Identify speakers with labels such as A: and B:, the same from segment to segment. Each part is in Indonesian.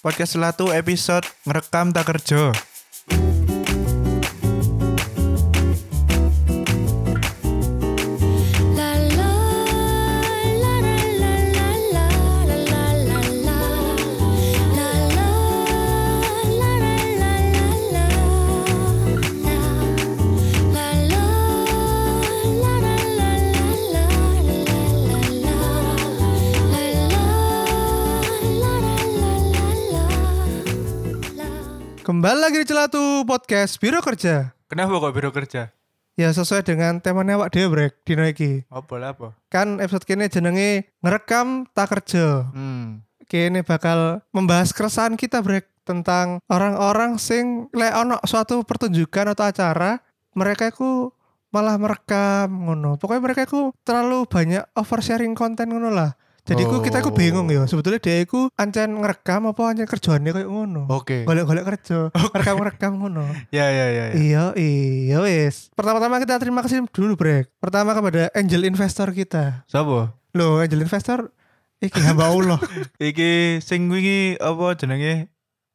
A: Podcast Selatu episode ngerekam tak kerja.
B: Kembali lagi di Celatu Podcast Biro Kerja.
A: Kenapa kok biro kerja?
B: Ya sesuai dengan temanya awak dhewe brek dino iki.
A: Apa?
B: Kan episode kene jenenge ngerekam tak kerja. Kene bakal membahas keresahan kita brek tentang orang-orang sing lek ono suatu pertunjukan atau acara mereka iku malah merekam ngono. Pokoknya mereka iku terlalu banyak oversharing konten ngono lah. Jadi kita bingung ya. Sebetulnya dia iku ancen ngerekam apa ancen kerjaannya kayak ngono.
A: Oke.
B: Golek-golek kerja, rekam-rekam ngono.
A: Ya.
B: Iya wis. Pertama-tama kita terima kasih dulu brek. Pertama kepada angel investor kita.
A: Sopo?
B: Loh, angel investor iki hamba Allah.
A: Iki sing wingi apa jenenge?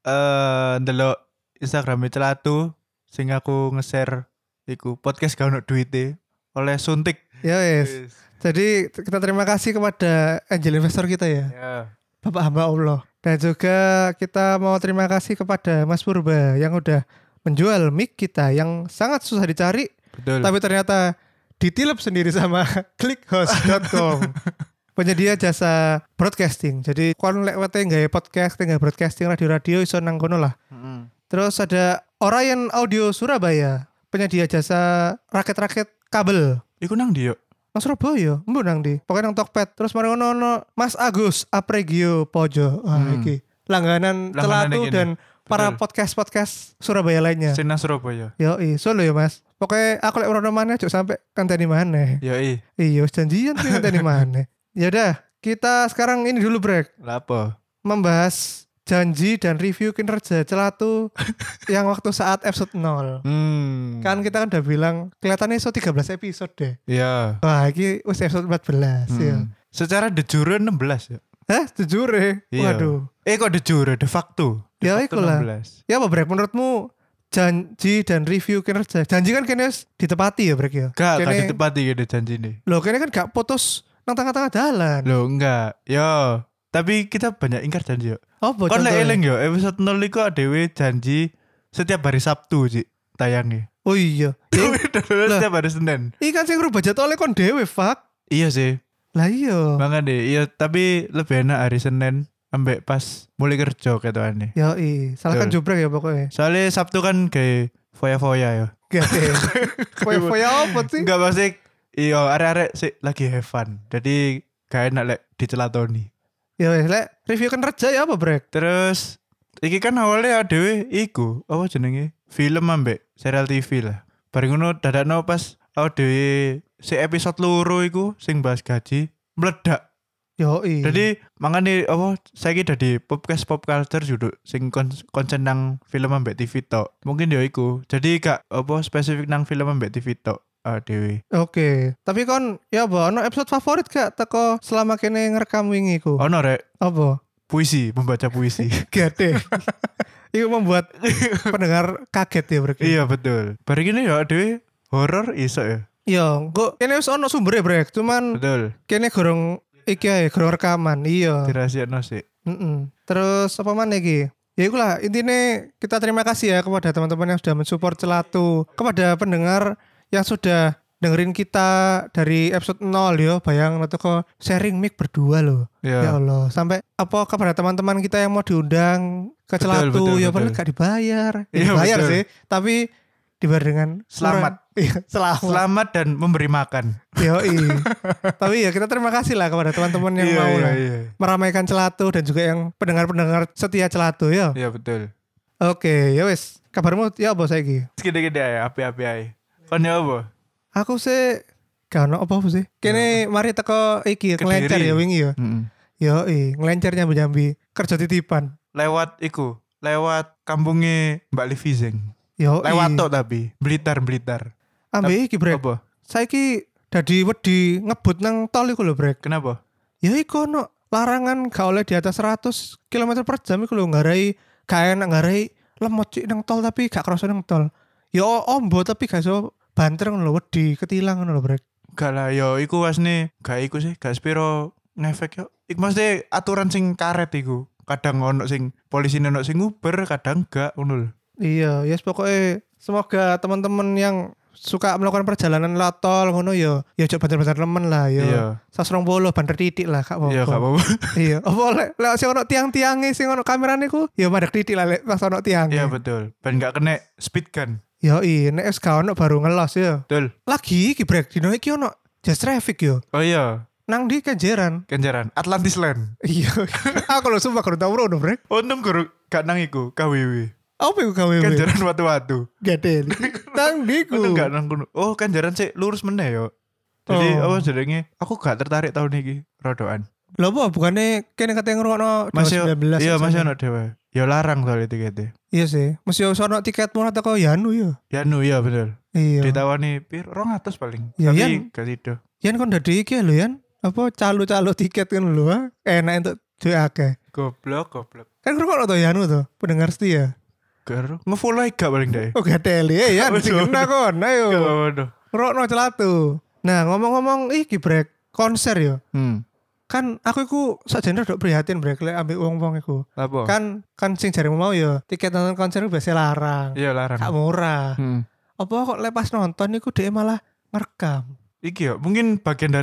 A: Ndelok Instagram Celatu sing aku nge-share iku podcast gak ono duite oleh suntik.
B: Ya wis. Jadi kita terima kasih kepada angel investor kita ya.
A: Ya.
B: Bapak hamba Allah. Dan juga kita mau terima kasih kepada Mas Purba yang udah menjual mic kita yang sangat susah dicari.
A: Betul.
B: Tapi ternyata ditilep sendiri sama clickhost.com. Penyedia jasa broadcasting. Jadi kon lek wete nggawe podcast, nggawe broadcasting radio-radio iso nang kono lah. Terus ada Orion Audio Surabaya, penyedia jasa rakit-rakit kabel.
A: Iku nang ndi yo?
B: Nang Surabaya, mbok nang ndi? Pokoknya nang Tokped. Terus mari ono Mas Agus Apregio Pojo. Iki langganan Celatu
A: ini.
B: dan para
A: Betul.
B: podcast Surabaya lainnya.
A: Sing nang Surabaya.
B: Yoi, solo ya Mas. Pokoknya aku lek ora maneh aja sampai kanteni maneh.
A: Yoi.
B: Iya, janjian sih kanteni maneh. Ya udah, kita sekarang ini dulu break.
A: Lah apa?
B: Membahas janji dan review kinerja Celatu yang waktu saat episode 0. Kan kita kan udah bilang kelihatannya so 13 episode deh.
A: Iya.
B: Wah, ini wis episode 14 ya.
A: Secara de jure 16 ya.
B: Hah? Jujur ya?
A: Iya.
B: Waduh.
A: Kok de jure de facto?
B: Ya
A: De facto
B: ikulah.
A: 16.
B: Ya apa Brek? Menurutmu janji dan review kinerja? Janji kan kayaknya ditepati ya Brek ya?
A: Gak
B: Kene-
A: ditepati gitu janji nih.
B: Loh kayaknya kan gak putus nang tengah-tengah jalan.
A: Loh enggak. Yo, tapi kita banyak ingkar janji yo.
B: Apa
A: Kon lek
B: contohnya?
A: eling yo, episode 0 iku adewe janji setiap hari Sabtu Ci tayangnya.
B: Oh iya.
A: Setiap hari Senin.
B: Ini kan sing ngerubah jadwalnya kon dewe fuck.
A: Iya sih.
B: Lah iya.
A: Banget deh. Iya, tapi lebih enak hari Senin ambek pas mulai kerja ketokane.
B: Ya salah kan
A: Betul.
B: jubrek ya pokoknya.
A: Soalnya Sabtu kan kayak foya-foya yo.
B: Gak deh. Foya-foya apa sih?
A: Enggak pasti. Iya, arek-arek sih lagi have fun. Jadi gak enak lek dicelatoni.
B: Ya wes lek review kinerja ya apa Brek?
A: Terus iki kan awalnya adewe iku apa jenenge? Film ambek serial TV lah. Bareng ngono dadakno pas adewe si episode loro iku sing bahas gaji meledak.
B: Yo
A: Jadi mangane apa saiki dadi podcast pop culture judul sing konsen nang film ambek TV tok. Mungkin yo iku. Jadi gak apa spesifik nang film ambek TV tok adewe.
B: Oke. Tapi kon ya apa ono episode favorit gak teko selama kene ngerekam wingi ku?
A: Ono rek
B: Apa?
A: puisi, membaca puisi.
B: Gak deh. Itu membuat pendengar kaget ya Brek.
A: Iya betul. Bareng ini ya adewe horor iso ya.
B: Iya, kok kene wis ono sumbernya Brek. Cuman
A: Betul.
B: kene gorong iki ae, gorong rekaman. Iya.
A: Dirahasiakno sih.
B: Terus apa mana iki? Ya itulah intinya kita terima kasih ya kepada teman-teman yang sudah mensupport Celatu, kepada pendengar yang sudah dengerin kita dari episode 0 yo, bayang kok sharing mic berdua loh.
A: Iya.
B: Ya Allah, sampai apa kepada teman-teman kita yang mau diundang ke
A: Betul,
B: Celatu
A: betul,
B: ya
A: betul.
B: padahal gak dibayar. Ya,
A: Iya,
B: dibayar
A: betul.
B: sih, tapi dibayar dengan
A: Selamat.
B: Iya, selamat.
A: Selamat dan memberi makan.
B: Yoi. Tapi ya kita terima kasih lah kepada teman-teman yang mau lah meramaikan Celatu dan juga yang pendengar-pendengar setia Celatu ya.
A: Iya betul.
B: Oke, ya wes. Kabarmu ya apa saiki?
A: Gede-gede ae, api-api ae. Kon ya apa?
B: Aku sih gak ono apa sih. Kene mari teko iki
A: Kediri.
B: ngelencer ya wingi ya.
A: Mm-mm.
B: Yoi, ngelencer nyambi-nyambi kerja titipan.
A: Lewat iku, lewat kampungnya Mbak Livi Zeng.
B: Yoi.
A: Lewat tok tapi Blitar.
B: Ambe iki brek.
A: Apa?
B: Saiki dadi wedi ngebut nang tol iku lho brek.
A: Kenapa?
B: Ya iku ono larangan gak oleh di atas 100 km per jam iku lho ngarai gak enak ngarai lemot cik nang tol tapi gak kerasa nang tol. Ya ombo tapi gak iso banter ngono lho wedi ketilang ngono lho brek.
A: Gak lah yo iku wasne gak iku sih gak spiro ngefek yo. Iku mesti aturan sing karet iku. Kadang ono sing polisi ono sing nguber, kadang gak ngono lho.
B: Iya, ya yes, pokoknya semoga teman-teman yang suka melakukan perjalanan latol ngono yo, ya coba banter-banter temen lah yo.
A: Iya.
B: 120 banter titik lah gak apa-apa.
A: Iya gak apa-apa.
B: Iya, apa lek sing ono tiang-tiange sing ono kamerane ku ya madek titik lah lek pas ono tiang.
A: Iya betul. Ben gak kena speed gun.
B: Yo nek wis gak ono baru ngelos yo.
A: Betul.
B: Lagi iki brek dino iki ono just traffic yo.
A: Oh iya,
B: Nang di Kenjeran.
A: Kenjaran Atlantis Land.
B: Iya. Aku lho sumpah kudu tau rono brek.
A: Untung guru gak nang iku KWW.
B: Apa iku KWW?
A: Kenjaran watu-watu.
B: Gede. Nang diku.
A: Untung gak nang kono. Oh, Kenjaran sih lurus meneh yo. Jadi
B: Oh.
A: apa jenenge? Aku gak tertarik tahun iki rodoan.
B: Lho apa bukannya kene kate ngrungokno
A: Masih
B: 19
A: iya
B: aja.
A: masih ono dhewe. Ya larang soalnya tiketnya.
B: Iya sih. Mesti ono tiket murah teko Yanu yo.
A: Ya nu iya bener.
B: Iya.
A: Ditawani pir 200 paling.
B: Ya,
A: Tapi
B: Yan.
A: gak sido.
B: Yan kon dadi iki lho Yan. Apa calo-calo tiket kan lho. Enak untuk duit akeh.
A: Goblok.
B: Kan ngrungokno to Yanu to, pendengar setia.
A: Garo nge-follow aja gak paling deh.
B: Oh gak teli ya Yan.
A: Betul.
B: Sing kena kon.
A: Gak
B: Ayo.
A: apa-apa.
B: Ngrungokno celatu. Nah, ngomong-ngomong iki brek konser yo. Kan aku iku sakjane rada prihatin brek lek ambek wong-wong iku.
A: Apa?
B: Kan sing jaremu mau yo tiket nonton konser iku biasa larang.
A: Iya larang.
B: Gak murah.
A: Hmm.
B: Apa kok lepas nonton iku dhek malah ngerekam.
A: Iki ya mungkin bagian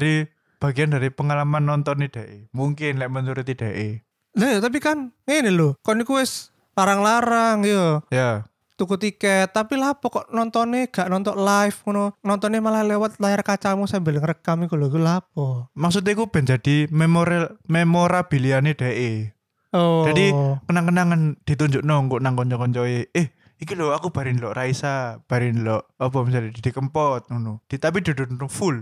A: dari pengalaman nonton nih deh. Mungkin lek menurut deh.
B: Lah ya tapi kan ngene lho, kon iku wis larang-larang yo.
A: Ya.
B: Tuku tiket, tapi lah pokok nontonnya gak nonton live ngono. Nontonnya malah lewat layar kacamu sambil ngerekam iku lho, iku lha apa?
A: Maksudnya aku ben jadi memorabiliane deh.
B: Oh.
A: Jadi kenang-kenangan ditunjuk nongko nang konco-koncoe. Iki lho aku barin lo Raisa, barin lo apa misalnya di Kempot ngono. Tapi duduk full.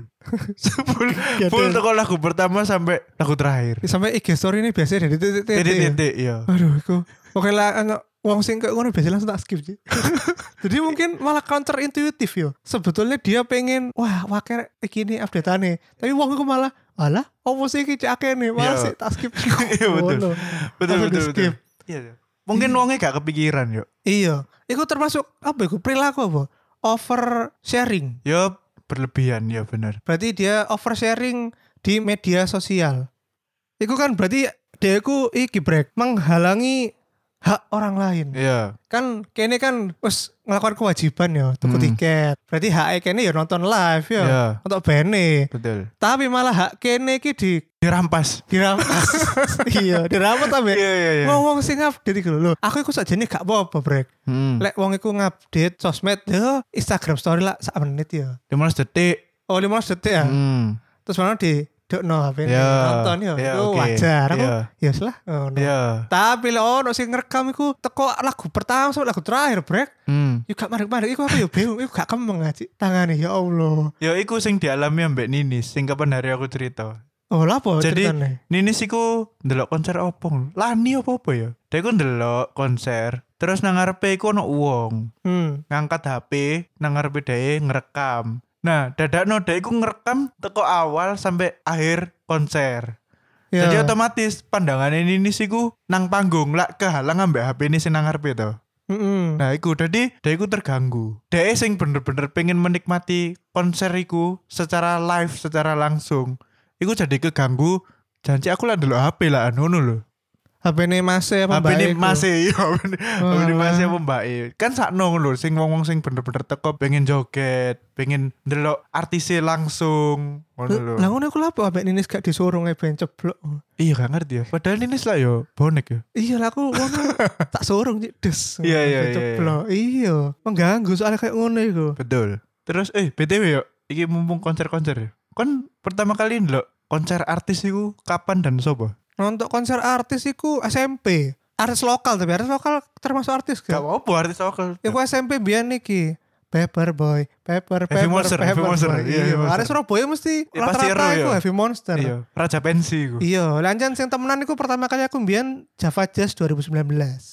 A: full toko lagu pertama sampai lagu terakhir.
B: Sampai IG story ini biasanya dari titik-titik.
A: Titik iya.
B: Aduh, iku. Oke lah, wong sing kayak ngono biasanya langsung tak skip sih. Jadi mungkin malah counter intuitif yo. Sebetulnya dia pengen wah wakil iki update-ane. Tapi wong iku malah alah opo sih iki cek akeh malah
A: Iya.
B: sih tak skip.
A: Iya betul.
B: Betul.
A: Betul. Iya. Mungkin wongnya gak kepikiran yo.
B: Iya. Iku termasuk apa iku perilaku apa? Over sharing.
A: Yo berlebihan ya benar.
B: Berarti dia oversharing di media sosial. Iku kan berarti dia iku iki brek menghalangi hak orang lain.
A: Iya.
B: Kan kene kan wis ngelakukan kewajiban ya tuku tiket. Berarti hak kene ya nonton live ya.
A: Iya.
B: Untuk bene.
A: Betul.
B: Tapi malah hak kene iki
A: Dirampas.
B: dirampas. Iya, dirampas ta, Mbak.
A: Iya.
B: Wong sing update iku lho. Aku iku sakjane gak apa-apa, brek. Lek wong iku ngupdate sosmed ya Instagram story lah sak menit ya.
A: 15 detik.
B: Oh 15 detik ya. Terus mana di dokno HP
A: Ya,
B: nonton ya.
A: ya,
B: Itu
A: oke.
B: wajar aku.
A: Ya.
B: Ya wis lah. Oh, no.
A: Iya.
B: Tapi lek ono sing ngerekam iku teko lagu pertama sampai lagu terakhir, brek. Yo gak marek-marek iku aku yo bingung, iku gak kemeng aja tangane ya Allah.
A: Ya iku sing dialami ambek Ninis, sing kapan hari aku cerita.
B: Oh, lha apa
A: Jadi
B: ceritane?
A: Ninis iku ndelok konser opong. Lani apa ya? Dia iku ndelok konser, terus nang ngarepe iku ono wong ngangkat HP nang ngarepe dhewe ngerekam. Nah, dadakno dhewe iku ngerekam teko awal sampai akhir konser.
B: Ya.
A: Jadi otomatis pandangannya Ninis iku nang panggung lak kehalang ambek HP ini sing nang ngarepe to. Nah, iku jadi dia iku terganggu. Dia sing bener-bener pengen menikmati konser iku secara live, secara langsung. Iku jadi keganggu. Janji aku lah dulu HP lah ngono lho.
B: HP ne masih apa
A: HP ini
B: iku?
A: masih iya. HP ini
B: Walah.
A: masih apa mbak kan sakno lho sing wong-wong sing bener-bener teko pengen joget, pengen ndelok artise langsung ngono lho.
B: Lah ngono iku lha apa ambek Ninis gak disuruh ngeben ceblok.
A: Iya gak ngerti ya. Padahal ini lah yo bonek ya.
B: Iya lah aku ngono tak surung Cik, des.
A: Iya, iya, iya,
B: Ceblok. Iya, mengganggu soalnya kayak ngono iku.
A: Betul. Terus BTW yo, iki mumpung konser-konser ya. Kon pertama kali ndelok konser artis iku kapan dan sopo?
B: Nonton konser artis iku SMP. Artis lokal tapi artis lokal termasuk artis
A: Gak
B: gak?
A: apa-apa artis lokal.
B: Iku SMP biyen iki. Paperboy,
A: Heavy Monster, Heavy Monster. Iya, Heavy
B: Iya,
A: Monster.
B: artis Surabaya mesti
A: Ya, pasti
B: rata-rata
A: ero
B: iku
A: ya.
B: Heavy Monster.
A: Iya, Raja Pensi iku.
B: Iya, lanjut sing temenan iku pertama kali aku mbiyen Java Jazz 2019.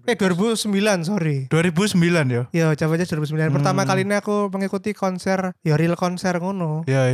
B: 2009 sorry.
A: 2009 ya.
B: Ya Java Jazz 2009. Pertama kali ini aku mengikuti konser, ya real konser ngono.
A: Ya.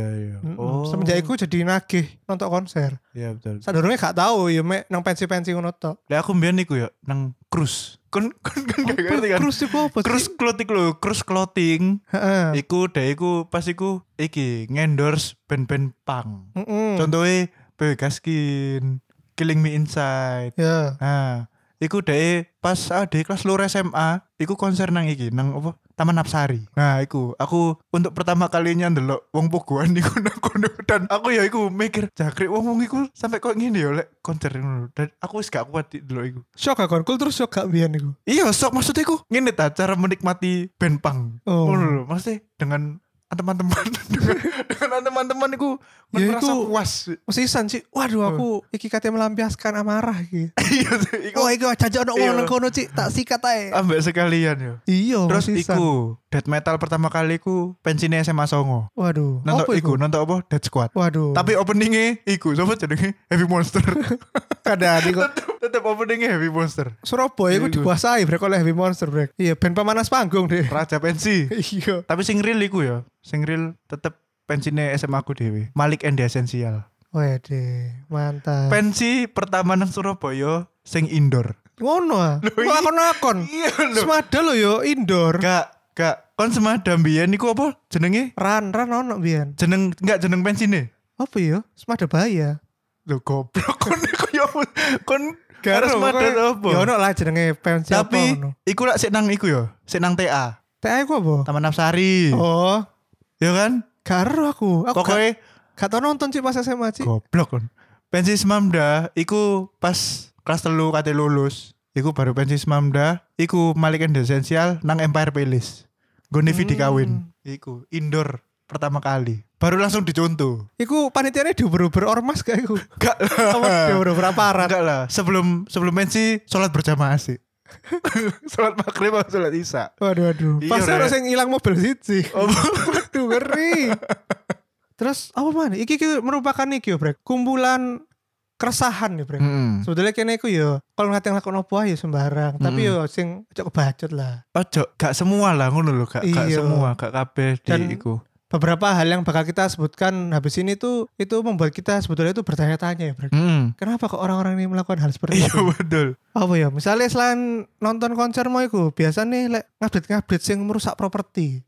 B: Semenjak itu jadi nagih nonton konser.
A: Iya betul.
B: Sadurunge gak tahu ya mek nang pensi-pensi ngono tok.
A: Lah aku mbiyen iku ya nang cruise. Kon gak ngerti kan.
B: Cruise iku apa sih?
A: Cruise clothing lho, cruise clothing.
B: Heeh.
A: Iku pas iku iki ngendorse band-band punk.
B: Heeh.
A: Contohnya PWK Skin, Killing Me Inside.
B: Ya.
A: Nah, iku pas kelas loro SMA, iku konser nang iki, nang apa? Taman Apsari. Nah, iku aku untuk pertama kalinya ndelok wong pogoan iku nang kono dan aku ya iku mikir, jangkrik wong iku sampai kok ngene ya lek konser ngono. Dan aku wis gak kuat ndelok iku.
B: Shock gak kon? Kul terus shock gak biyen iku?
A: Iya, sok maksudnya iku ngene ta cara menikmati band punk.
B: Oh.
A: Ngono lho, maksudnya dengan teman-teman dengan teman-teman iku
B: Ya,
A: merasa
B: iku-
A: puas.
B: Mesisan sih. Waduh aku iki kate melampiaskan amarah iki.
A: Iya, iku
B: Wah, iki jajak ono
A: Iya.
B: wong nang kono, Cik. Tak sikat ae.
A: ambek sekalian yo.
B: Iya,
A: Terus
B: mesisan.
A: iku death metal pertama kali ku pensinya SMA Songo.
B: Waduh.
A: Nonton
B: Apa
A: iku, nonton apa? Dead Squad.
B: Waduh.
A: Tapi openingnya iku, sapa jenenge? Heavy Monster.
B: kadang iku
A: Tetep openingnya Heavy Monster.
B: Surabaya iku
A: Iku.
B: dikuasai brek oleh Heavy Monster brek. Iya, band pemanas panggung deh.
A: Raja pensi.
B: Iya.
A: Tapi sing real iku ya, sing real tetep pensinya SMA aku dewe. Malik and the Essential.
B: Wede, mantap.
A: Pensi pertama nang Surabaya sing indoor.
B: Ngono ah.
A: iya.
B: Akon-akon.
A: Iya lho.
B: Semada lo yo indoor.
A: Gak. Kon semadam biyen iku apa? Jenenge?
B: Ran ono biyen.
A: Jeneng pensine.
B: Apa yo? Semada bahaya.
A: Lho goblok kon iku ya kon
B: Gak
A: harus
B: ono,
A: madam
B: pokoknya-
A: apa?
B: Ya ono lah jenenge pensi apa
A: Tapi
B: ngono.
A: iku lak sik nang iku ya, sik nang TA,
B: TA iku apa?
A: Taman Apsari.
B: Oh,
A: Ya kan?
B: gak ero aku. Aku
A: Pokoknya
B: gak tau nonton Cik pas SMA Cik.
A: goblok kon. Pensi Semamda iku pas kelas 3 kate lulus. Iku baru pensi Semamda, iku Malik and the Essential nang Empire Palace. Gone Vidi kawin. Iku indoor pertama kali. Baru langsung dicontoh.
B: Iku panitiane diuber-uber ormas gak iku?
A: Gak
B: Apa
A: lah.
B: diuber-uber aparat?
A: Enggak lah. Sebelum pensi sholat berjamaah sih. Sholat maghrib atau sholat isya.
B: Waduh.
A: Iya,
B: Pas
A: Rek.
B: ono sing ilang mobil siji.
A: Oh,
B: Waduh, ngeri. Terus apa mana? Iki merupakan iki yo, Brek. Kumpulan keresahan nih, Brek. Sebetulnya kene iku yo kalau ngate nglakon opo ae yo sembarang, tapi yo sing ojo kebacut lah.
A: Ojo, gak semua lah ngono lho, gak
B: Iya.
A: semua, gak kabeh
B: Dan-
A: di iku.
B: Beberapa hal yang bakal kita sebutkan habis ini tuh itu membuat kita sebetulnya itu bertanya-tanya ya, Brek. Kenapa kok orang-orang ini melakukan hal seperti
A: Iya
B: itu?
A: betul.
B: Apa ya? Misalnya selain nonton konser mau iku, biasa nih lek ngupdate sing merusak properti.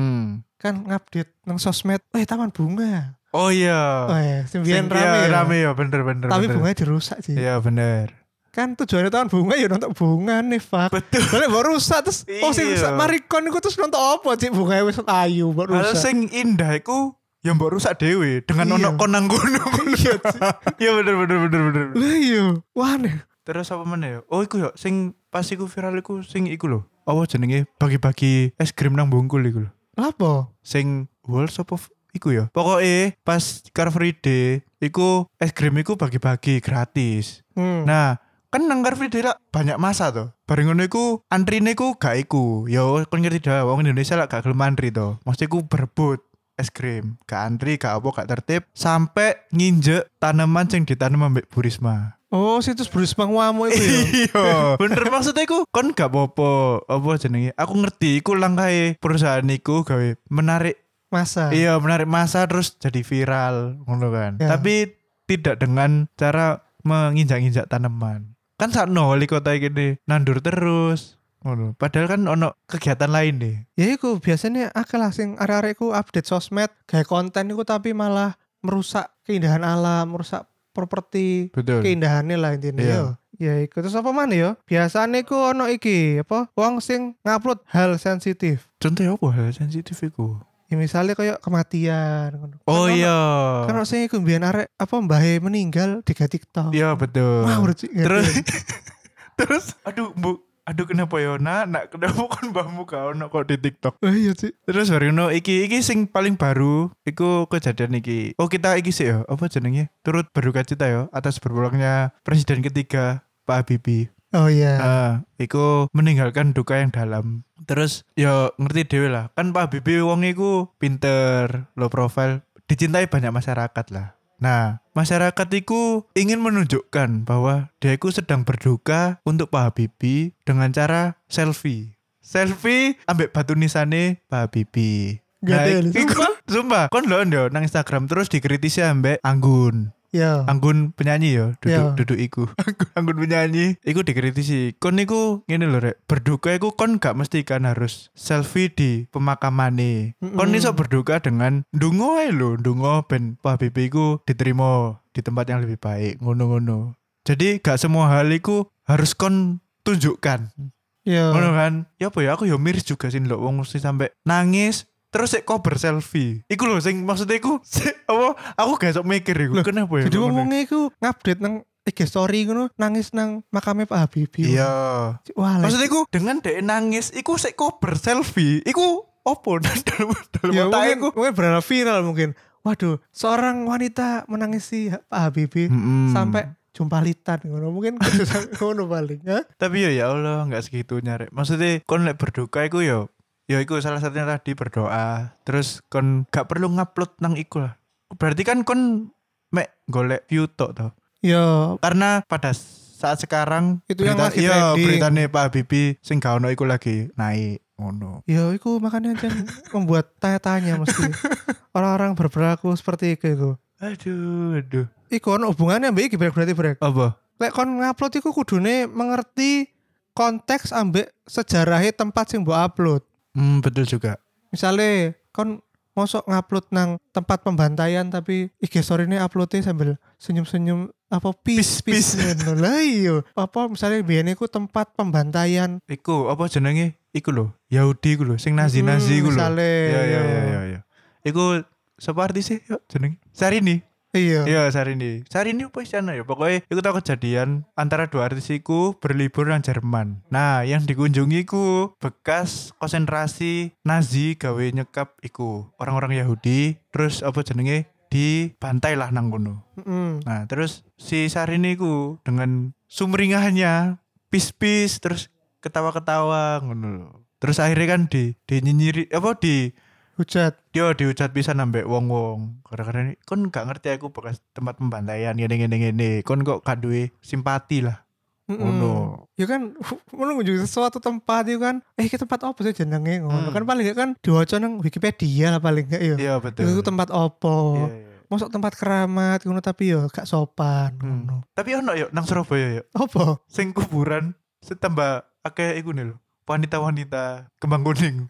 B: Kan ngupdate nang sosmed, taman bunga.
A: Oh iya.
B: Sembilan
A: Sing-
B: rame
A: iya,
B: ya.
A: rame ya, bener.
B: Tapi
A: bener.
B: bunganya dirusak sih.
A: Iya bener.
B: Kan tujuannya taman bunga ya nonton bunga nih, fuck.
A: Betul.
B: Balik baru rusak terus sing
A: Iya.
B: rusak marikon iku terus nonton apa sih bunganya wis ayu baru
A: Hal
B: rusak.
A: sing indah iku yang mbok rusak dhewe dengan
B: Iya.
A: ono konang gunung.
B: Iya, Ci.
A: Iya bener.
B: Lah iya, wah nih.
A: Terus apa meneh ya? Oh iku ya sing pas iku viral iku sing iku lho. Apa jenenge bagi-bagi es krim nang Bungkul iku lho.
B: Apa?
A: Sing World Shop of iku ya. Pokoknya pas Car Free Day iku es krim iku bagi-bagi gratis. Nah, kan nang Car Free Day lah banyak masa tuh. Bareng ngono iku antrine iku gak iku. Ya kon ngerti dah wong Indonesia lah gak gelem antri to. Mesti iku berebut es krim. Gak antri, gak apa, gak tertib sampai nginjek tanaman sing ditanam ambek Bu Risma.
B: Oh, situs Bruce Mangwamu itu ya.
A: Iya, bener maksudnya iku kon gak apa jenenge. Aku ngerti iku langkahe perusahaan iku gawe menarik
B: Masa.
A: iya menarik masa terus jadi viral ngono kan.
B: Ya.
A: Tapi tidak dengan cara menginjak-injak tanaman. Kan sakno wali kota gini nandur terus ngono. Padahal kan ono kegiatan lain deh.
B: Ya iku biasanya akeh lah sing arek-arek iku update sosmed, gawe konten iku tapi malah merusak keindahan alam, merusak properti,
A: Betul.
B: keindahannya lah intinya
A: Iya.
B: yo. Ya iku terus apa mana yo? Biasanya iku ono iki apa? Wong sing ngupload hal sensitif.
A: Contohnya apa hal sensitif iku?
B: Ya misalnya kayak kematian ngono.
A: Oh
B: Kan ono-
A: iya.
B: Kan ono sing iku mbiyen arek apa mbahe meninggal digawe TikTok.
A: Iya betul.
B: Wah, Cik,
A: Terus
B: ngerti.
A: terus aduh kenapa ya nak kenapa kan mbahmu gak ono kok di TikTok.
B: Oh iya sih.
A: Terus bareng iki sing paling baru iku kejadian iki. Oh kita iki sih ya apa jenenge? Turut berduka cita ya atas berpulangnya presiden ketiga Pak Habibie.
B: Oh iya.
A: Iku meninggalkan duka yang dalam. Terus ya ngerti dhewe lah. Kan Pak Habibie wong iku pinter, low profile, dicintai banyak masyarakat lah. Nah, masyarakat itu ingin menunjukkan bahwa dia itu sedang berduka untuk Pak Habibie dengan cara selfie. Selfie ambek batu nisane Pak Habibie. Nah,
B: Gadel,
A: sumpah, kon lho nang Instagram terus dikritisi ambek Anggun.
B: Ya.
A: Anggun penyanyi ya,
B: Ya.
A: duduk iku. Anggun penyanyi, iku dikritisi. Kon niku ngene lho rek, berduka iku kon gak mesti kan harus selfie di pemakamane. Kon iso berduka dengan ndonga ae lho, ndonga ben Pak Habibie iku diterima di tempat yang lebih baik, ngono-ngono. Jadi gak semua hal iku harus kon tunjukkan.
B: Ya.
A: Ngono kan? Ya apa ya, aku ya miris juga sih lho wong mesti sampai nangis terus sik cover selfie. Iku lho sing maksudnya iku apa aku gak sok mikir iku. Kenapa ya?
B: Jadi wong-wong iku ngupdate nang IG story ngono nangis nang makame Pak Habibie.
A: Iya.
B: Wah,
A: Maksudnya iku dengan dhek nangis iku sik cover selfie. Iku opo dalam
B: ya,
A: otak iku.
B: mungkin berada viral mungkin. Waduh, seorang wanita menangisi Pak Habibie sampai jumpa litan ngono. Mungkin ngono paling, ya.
A: Tapi ya Allah enggak segitunya rek. Maksudnya kon lek berduka iku ya iku salah satunya tadi berdoa. Terus kon gak perlu ngupload nang iku lah. Berarti kan kon mek golek view tok toh.
B: Ya,
A: Karena pada saat sekarang
B: itu yang lagi trending.
A: beritanya Pak Habibie sing gak ono iku lagi naik ngono.
B: ya iku makanya kan membuat tanya-tanya mesti orang-orang berperilaku seperti itu.
A: Aduh.
B: Iku ono hubungannya mbak iki berarti brek.
A: Apa?
B: Lek kon ngupload iku kudune mengerti konteks ambek sejarahnya tempat sing mbok upload.
A: Betul juga.
B: Misalnya kon mosok ngupload nang tempat pembantaian tapi IG story ini uploadnya sambil senyum-senyum apa peace ngono lah iya. Apa misalnya biyen iku tempat pembantaian
A: Iku apa jenenge? Iku lho, Yahudi iku lho, sing Nazi iku lho.
B: Misale,
A: Ya. Iku sapa artis sih? Yo jenenge? Syahrini.
B: iya.
A: Iya, Syahrini. Syahrini apa istilahnya ya? Pokoknya iku tau kejadian antara dua artis iku berlibur nang Jerman. Nah, yang dikunjungi iku bekas konsentrasi Nazi gawe nyekap iku orang-orang Yahudi. Terus apa jenenge? Dibantai lah nang kono. Nah, terus si Syahrini iku dengan sumringahnya pis-pis terus ketawa-ketawa ngono lho. Terus akhirnya kan dinyinyiri apa
B: Hujat.
A: dia dihujat pisan ambek wong-wong. Gara-gara ini kon gak ngerti aku bekas tempat pembantaian ngene. Kon kok gak duwe simpati lah. Ngono.
B: Ya kan ngono ngunjungi sesuatu tempat itu kan iki tempat apa sih jenenge ngono kan paling gak kan diwaca nang Wikipedia lah paling gak ya.
A: Iya betul.
B: Itu tempat opo.
A: Iya.
B: Masuk tempat keramat ngono tapi yo gak sopan ngono.
A: Tapi ono yo nang Surabaya yo.
B: Apa?
A: Sing kuburan setambah akeh iku nih lho. Wanita-wanita kembang kuning.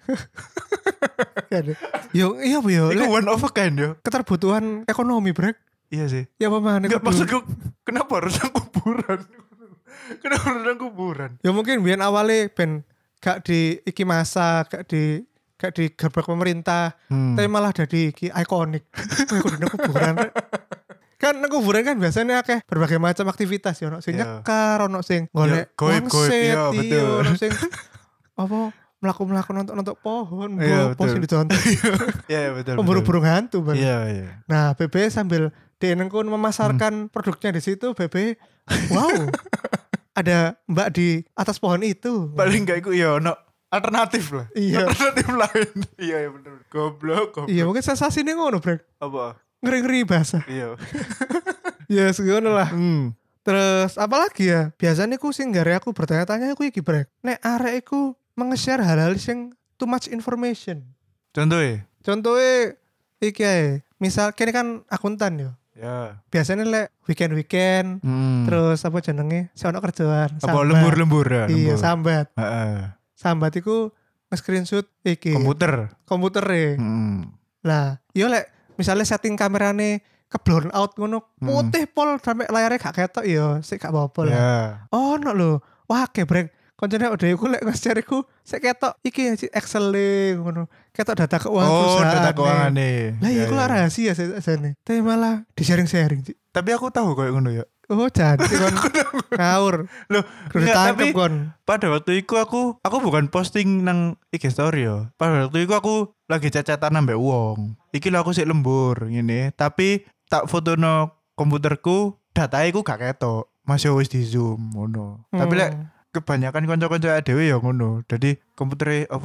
B: Yo iya apa yo?
A: Iku one of a kind yo.
B: Keterbutuhan ekonomi brek.
A: Iya sih.
B: Ya apa mana?
A: Enggak maksudku kenapa harus nang kuburan? Kenapa harus nang kuburan?
B: Ya mungkin biyen awalnya ben gak di iki masa, gak di gerbek pemerintah, tapi malah jadi iki ikonik. Aku di kuburan. Kan nang kuburan kan biasanya akeh berbagai macam aktivitas ya, ono sing nyekar, ono sing golek wangsit, ono sing apa melaku nonton pohon, pos di contoh.
A: Iya betul.
B: Pemburu burung hantu bang.
A: Iya.
B: Nah BB sambil dienengkun memasarkan produknya di situ, BB wow ada mbak di atas pohon itu.
A: Paling gak iku ya ono alternatif lah.
B: Iya.
A: Alternatif lain. Iya bener. Goblok.
B: Iya mungkin sensasi ini ngono brek.
A: Apa?
B: Ngeri-ngeri bahasa.
A: Iya.
B: Ya segono lah. Terus apalagi ya? Biasanya aku sing gare aku bertanya-tanya aku iki brek. Nek arek iku nge-share hal-hal sing too much information.
A: Contohnya
B: Iki ae. Misal kene kan akuntan yo.
A: ya.
B: Biasanya lek weekend terus apa jenenge? Si ono kerjaan.
A: Apa lembur ya?
B: Iya, sambat.
A: Heeh.
B: Sambat iku nge-screenshot iki. Komputer. Lah, yo lek misalnya setting kamerane ke blown out ngono putih pol sampai layarnya gak ketok yo, sik gak apa-apa lah. Oh no lho. Wah kebrek. Koncone udah iku lek nge-share iku sik ketok iki Excel ngono. Ketok data keuangan perusahaan.
A: Oh, data keukangane.
B: Lah iya iku lah rahasia sajane. Tapi malah di-sharing.
A: Tapi aku tahu koyo ngono ya.
B: Oh, jadi kon ngawur.
A: Loh,
B: tapi kon.
A: Pada waktu itu aku bukan posting nang IG story yo. Pada waktu itu aku lagi cacatan ambek wong. Iki lho aku sik lembur ngene, tapi tak fotono komputerku, dataku gak ketok. Masih wis di zoom ngono. Tapi lek kebanyakan kanca-kanca dhewe ya ngono. Jadi komputere apa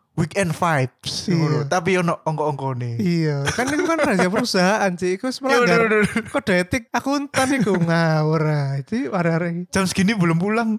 A: weekend vibes.
B: Iya.
A: Tapi ono ongko-ongkone.
B: Iya, kan itu kan rahasia perusahaan sih. Iku wis melanggar kode etik akuntan iku ngawur. Itu arek-arek
A: Jam segini belum pulang.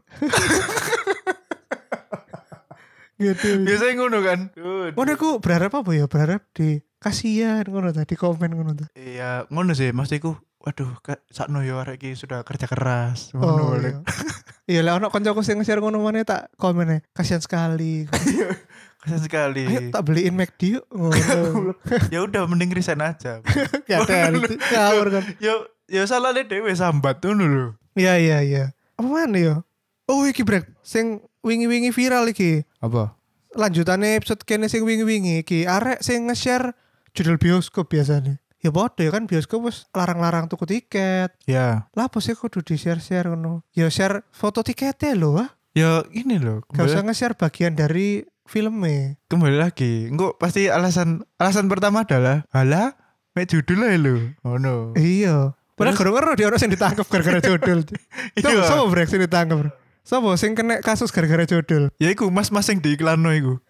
B: gitu.
A: Biasanya ngono kan.
B: Ngono aku berharap apa ya? Berharap di kasihan ngono tadi komen ngono ta.
A: Iya, ngono sih maksudku. Waduh, sakno yo arek iki sudah kerja keras.
B: Oh
A: Ngono.
B: iya. Iya lah ono kancaku sing nge-share ngono maneh tak komen kasihan sekali.
A: Kasian sekali.
B: Ayo tak beliin McD yuk. Ngono.
A: Ya udah mending resign aja.
B: Gak ada ngawur kan.
A: Yo salahnya dhewe sambat ngono lho.
B: Iya. Apa mana ya? Oh iki brek sing wingi-wingi viral iki.
A: Apa?
B: Lanjutannya episode kene sing wingi-wingi iki arek sing nge-share judul bioskop biasanya. Ya bodoh ya kan bioskop wis larang-larang tuku tiket.
A: Ya.
B: Lah apa sih kudu di-share-share ngono. Ya share foto tiketnya lho ah.
A: Ya ini loh.
B: Gak usah nge-share bagian dari filmnya.
A: Kembali lagi. Enggak pasti alasan pertama adalah halah mek judul ae lho. Oh no.
B: Iya. Padahal gara-gara dia orang yang ditangkap gara-gara judul.
A: Iya.
B: Sama brek sing ditangkap bro. Sama sing kena kasus gara-gara judul.
A: Ya iku mas-mas sing diiklanno iku.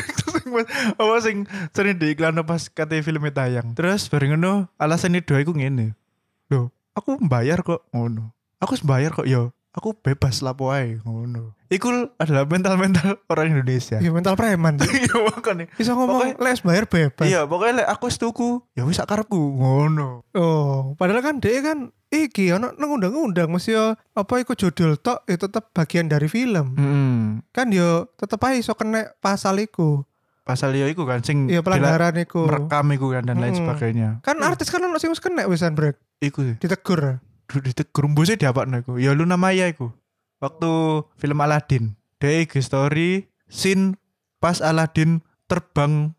A: Sing sering diiklanno pas kate filmnya tayang. Terus bareng ngono alasan itu iku ngene. Loh, aku membayar kok ngono. Aku membayar kok yo. Aku bebas lapo ae ngono. Iku adalah mental orang Indonesia.
B: Iya mental preman.
A: Iya makane.
B: Bisa ngomong les bayar bebas.
A: Iya, pokoknya aku wis tuku, ya wis sak karepku ngono.
B: Oh, padahal kan dia kan iki ono nang undang-undang mesti yo apa iku judul tok itu tetep bagian dari film. Kan yo tetep ae iso kena pasal iku.
A: Pasal yo iku kan sing
B: Iya pelanggaran iku.
A: merekam iku kan dan lain sebagainya.
B: Kan artis kan ono sing wis kena wisan brek.
A: Iku sih.
B: Ditegur.
A: Ditegur mbuse diapakno iku. Ya Luna Maya iku. Waktu film Aladdin, dia IG story scene pas Aladdin terbang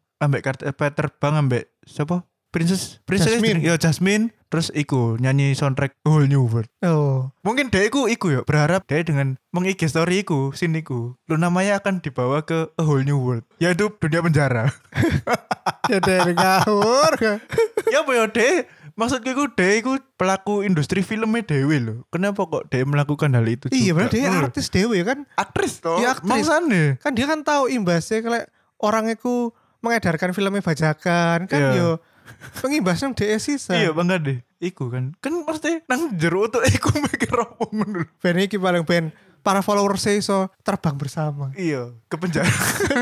A: ambek siapa? Princess
B: Jasmine.
A: Ya Jasmine. Terus iku nyanyi soundtrack A Whole New World.
B: Oh.
A: Mungkin dia iku ya berharap dia dengan meng-IG story iku scene iku Luna Maya akan dibawa ke A Whole New World, yaitu dunia penjara.
B: Ya dari ngawur.
A: Ya apa ya deh? Maksudku iku pelaku industri filmnya dewe loh. Kenapa kok dia melakukan hal itu?
B: Iya
A: juga?
B: berarti dia artis dewe kan.
A: Aktris toh.
B: Iya, aktris.
A: Maksane.
B: Kan dia kan tahu imbasnya kalau orang itu mengedarkan filmnya bajakan kan
A: Iya.
B: yo pengimbasnya dia sisa.
A: Iya bangga deh. Iku kan pasti nang jero tuh iku mikir apa ngono.
B: Ben iki paling ben para followers iso terbang bersama.
A: Iya, ke penjara.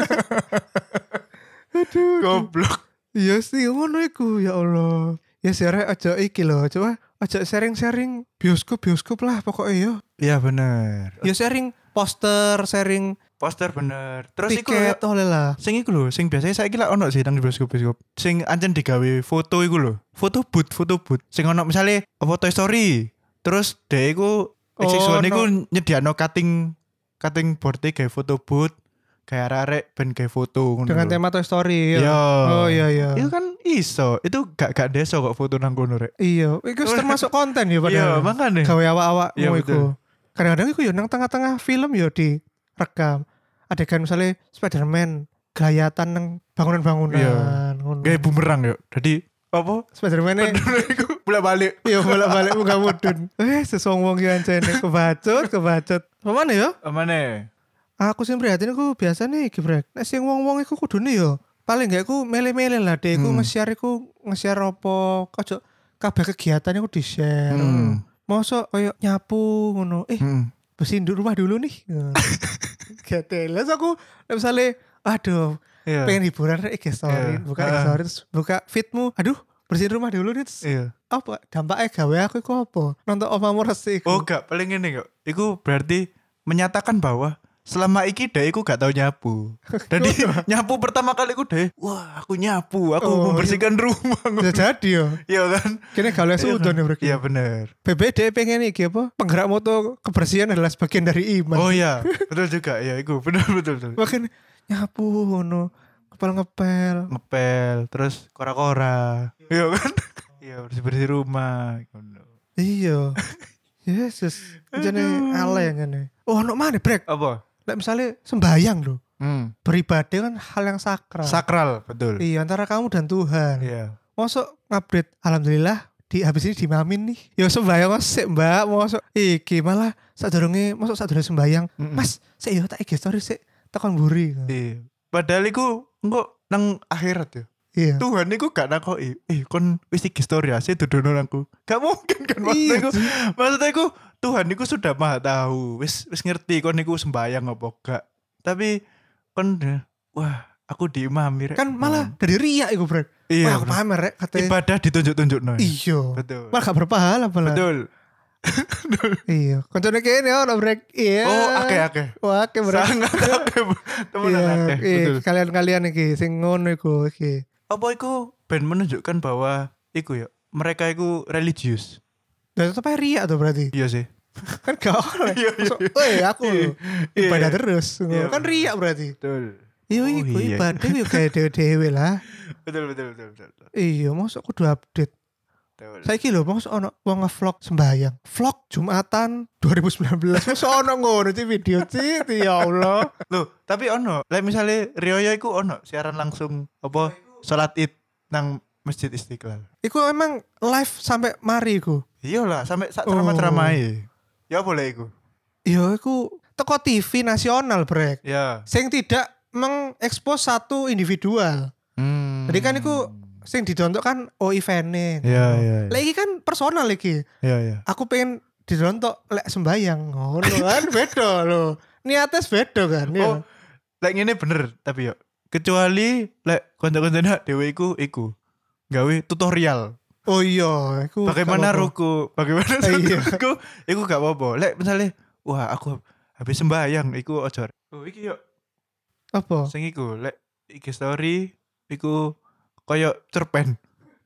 A: Aduh, goblok.
B: Iya sih ngono iku ya Allah. Ya share aja iki loh, coba aja sharing-sharing bioskop lah pokoknya yo.
A: Iya bener.
B: Ya sharing poster, sharing
A: Poster bener. Terus iku
B: tiket oleh lah.
A: sing iku lho, sing biasanya saiki lak ono sih nang bioskop. Sing ancen digawe foto iku lho. Foto booth. Sing ono misale apa Toy Story. Terus dhek iku siswane iku nyediakno cutting board gawe foto booth. Kayak arek ben gawe foto ngono.
B: Dengan
A: lho.
B: tema Toy Story ya.
A: Iya.
B: Oh iya.
A: Itu kan iso. Itu gak deso kok foto nang kono rek.
B: Iya, itu termasuk konten ya
A: Iya,
B: padahal.
A: makane.
B: Gawe awak-awak
A: Iya,
B: mau
A: betul.
B: iku. Kadang-kadang iku yo nang tengah-tengah film yo direkam. Adegan misalnya Spider-Man gelayatan nang bangunan-bangunan
A: Iya.
B: ngono.
A: Gawe bumerang yo. Jadi apa?
B: Spider-Man
A: Iku bolak-balik.
B: iya bolak-balik muka mudun. Sesong wong ki ancene kebacut. Pemane yo?
A: Amane.
B: Aku sing prihatin iku biasa nih gebrek. Nek sing wong-wong iku kudune yo paling gak iku mele-mele lah deh iku nge-share apa ojo kabeh kegiatan iku di-share. Mosok koyo nyapu ngono. Bersihin rumah dulu nih. Gatel. Terus aku misalnya aduh
A: Iya.
B: pengen hiburan IG story,
A: Iya.
B: buka IG story terus buka feedmu. Aduh, bersihin rumah dulu nih. Terus
A: Iya.
B: apa dampaknya gawe aku iku apa? Nonton omamu resik.
A: Oh gak paling ini kok. Iku berarti menyatakan bahwa selama iki deh iku gak tau nyapu. Jadi nyapu pertama kali iku deh, wah aku nyapu, aku
B: Oh,
A: membersihkan rumah.
B: Bisa jadi yo.
A: Iya kan?
B: Kini gawe sudon ya bro.
A: Iya bener.
B: BBD pengen iki apa? Penggerak moto kebersihan adalah sebagian dari iman.
A: Oh iya, betul juga. Iya iku betul.
B: Makin nyapu ngono, ngepel.
A: Ngepel, terus kora-kora. Iya kan? Iya bersih-bersih rumah.
B: Iya. Yesus, jane ale ngene. Oh, ono mana brek?
A: Apa?
B: Lek misalnya sembayang loh. Beribadah kan hal yang sakral.
A: Sakral, betul.
B: Iya, antara kamu dan Tuhan.
A: Iya.
B: Masuk ngupdate, alhamdulillah di habis ini dimamin nih. Ya sembayang mas, sik mbak, masuk iki malah sadurunge masuk sadurunge sembayang. Mas, sik yo tak IG story sik tekan mburi.
A: Iya. Padahal iku engko nang akhirat ya.
B: Iya.
A: Tuhan iku gak nakoki, kon wis iki story ase dudono aku. Gak mungkin kan maksudnya iku Tuhan iku sudah maha tahu, wis ngerti kon iku sembayang apa gak. Tapi kon wah, aku diimami rek.
B: Kan malah dari riak iku, Brek.
A: Iya,
B: wah, aku pamer rek katanya.
A: Ibadah ditunjuk-tunjukno.
B: Iya.
A: Betul.
B: Malah gak berpahala malah.
A: Betul.
B: Iya. Koncone kene ono, Brek. Iya.
A: Oh, akeh.
B: Wah, akeh, Brek.
A: Sangat akeh. Temenan akeh. Betul.
B: Kalian-kalian iki sing ngono iku iki.
A: Apa iku ben menunjukkan bahwa iku ya, mereka iku religius.
B: Dan tetep ae riak tuh berarti.
A: Iya sih.
B: Kan gak oleh. Aku ibadah terus. Kan riak berarti.
A: Betul.
B: Iya iku ibadah yo kayak dewe-dewe lah.
A: Betul.
B: Iya, mosok kudu update.
A: Betul.
B: Saiki lho mosok ono wong nge-vlog sembayang. Vlog Jumatan 2019. Mosok ono ngono ci video ci, ya Allah.
A: Loh, tapi ono, like misale Rioyo iku ono siaran langsung apa salat Id nang Masjid Istiqlal.
B: Iku emang live sampai mari iku.
A: Iyalah, sampai sak ceramah-ceramahe. Ya boleh iku.
B: Iya, iku teko TV nasional, Brek.
A: Ya.
B: Sing tidak mengekspos satu individual. Jadi kan iku sing didontok kan event-e.
A: Iya.
B: Lah iki kan personal iki.
A: Iya.
B: Aku pengen didontok lek sembayang. Ngono kan beda lho. Niatnya beda kan.
A: Oh, lek ngene bener tapi yo. Kecuali lek kanca-kancane dhewe iku gawe tutorial.
B: Oh iya, iku
A: Bagaimana ruku, bagaimana
B: iya.
A: Iku gak apa-apa. Lek misalnya wah aku habis sembayang iku ojo. Oh iki yo
B: apa?
A: sing iku lek iki story iku koyo cerpen.